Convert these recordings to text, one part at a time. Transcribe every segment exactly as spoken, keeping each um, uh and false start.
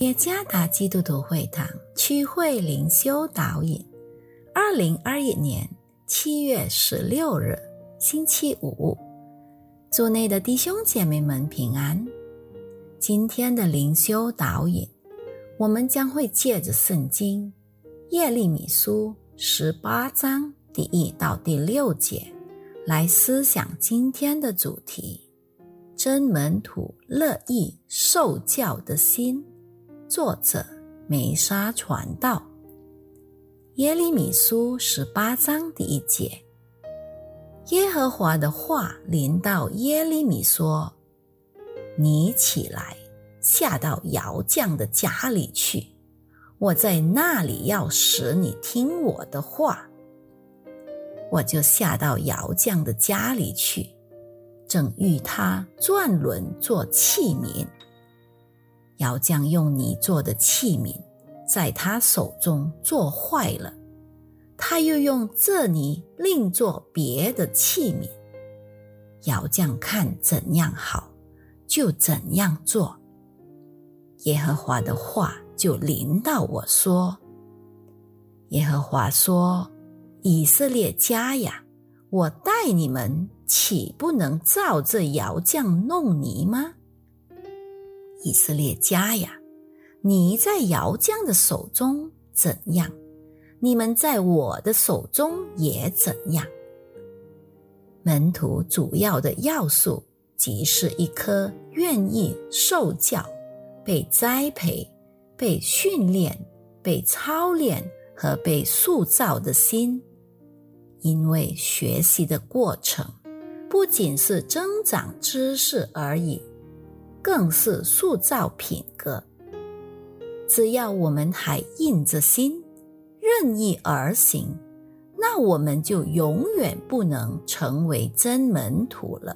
耶加达基督徒会堂区会灵修导引，二零二一年七月十六日星期五，主内的弟兄姐妹们平安。今天的灵修导引，我们将会借着圣经耶利米书十八章第一到第六节来思想今天的主题：真门徒乐意受教的心。作者梅沙传道。耶利米书十八章第一节，耶和华的话临到耶利米说：你起来，下到窑匠的家里去，我在那里要使你听我的话。我就下到窑匠的家里去，正欲他转轮做器皿。窑匠用泥做的器皿在他手中做坏了，他又用这泥另做别的器皿。窑匠看怎样好，就怎样做。耶和华的话就临到我说：耶和华说，以色列家呀，我带你们，岂不能照这窑匠弄泥吗？以色列家呀，你在窑匠的手中怎样，你们在我的手中也怎样。门徒主要的要素即是一颗愿意受教、被栽培、被训练、被操练和被塑造的心。因为学习的过程不仅是增长知识而已，更是塑造品格。只要我们还硬着心，任意而行，那我们就永远不能成为真门徒了。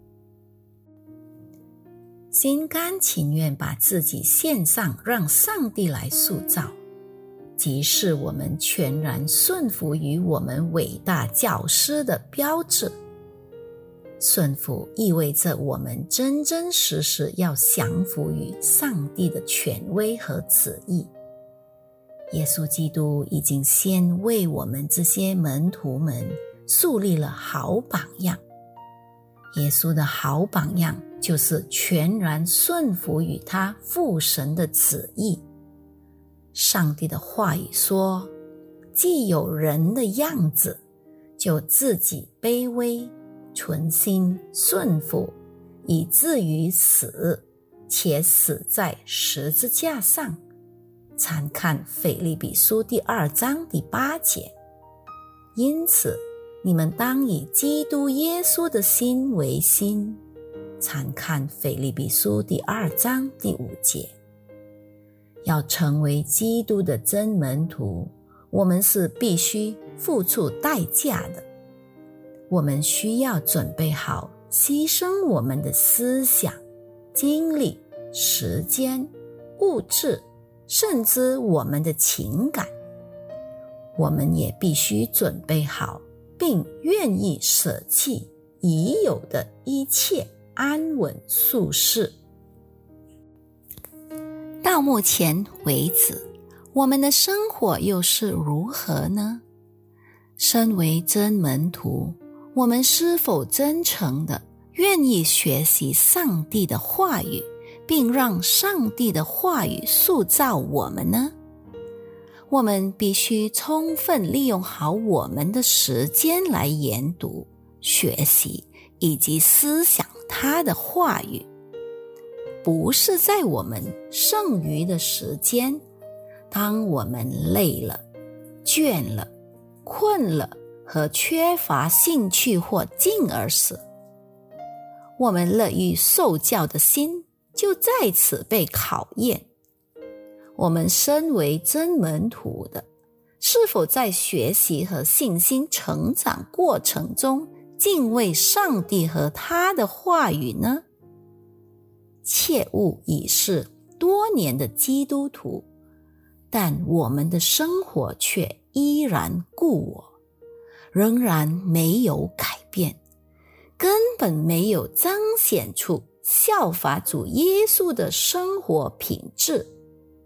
心甘情愿把自己献上，让上帝来塑造，即是我们全然顺服于我们伟大教师的标志。顺服意味着我们真真实实要降服于上帝的权威和旨意。耶稣基督已经先为我们这些门徒们树立了好榜样。耶稣的好榜样就是全然顺服于他父神的旨意。上帝的话语说，既有人的样子，就自己卑微，存心顺服，以至于死，且死在十字架上。参看腓立比书第二章第八节。因此，你们当以基督耶稣的心为心。参看腓立比书第二章第五节。要成为基督的真门徒，我们是必须付出代价的。我们需要准备好牺牲我们的思想、精力、时间、物质，甚至我们的情感。我们也必须准备好，并愿意舍弃已有的一切安稳舒适。到目前为止，我们的生活又是如何呢？身为真门徒，我们是否真诚地愿意学习上帝的话语，并让上帝的话语塑造我们呢？我们必须充分利用好我们的时间来研读、学习以及思想他的话语，不是在我们剩余的时间，当我们累了、倦了、困了和缺乏兴趣或劲儿时，我们乐于受教的心就在此被考验。我们身为真门徒的，是否在学习和信心成长过程中敬畏上帝和他的话语呢？切勿已是多年的基督徒，但我们的生活却依然故我，仍然没有改变，根本没有彰显出效法主耶稣的生活品质。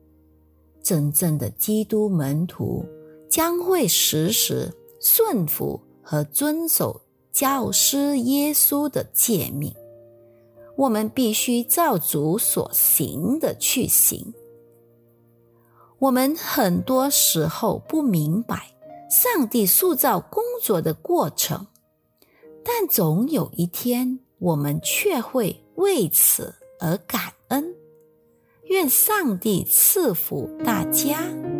真正的基督门徒将会时时顺服和遵守教师耶稣的诫命。我们必须照主所行的去行。我们很多时候不明白上帝塑造工作的过程，但总有一天我们却会为此而感恩。愿上帝赐福大家。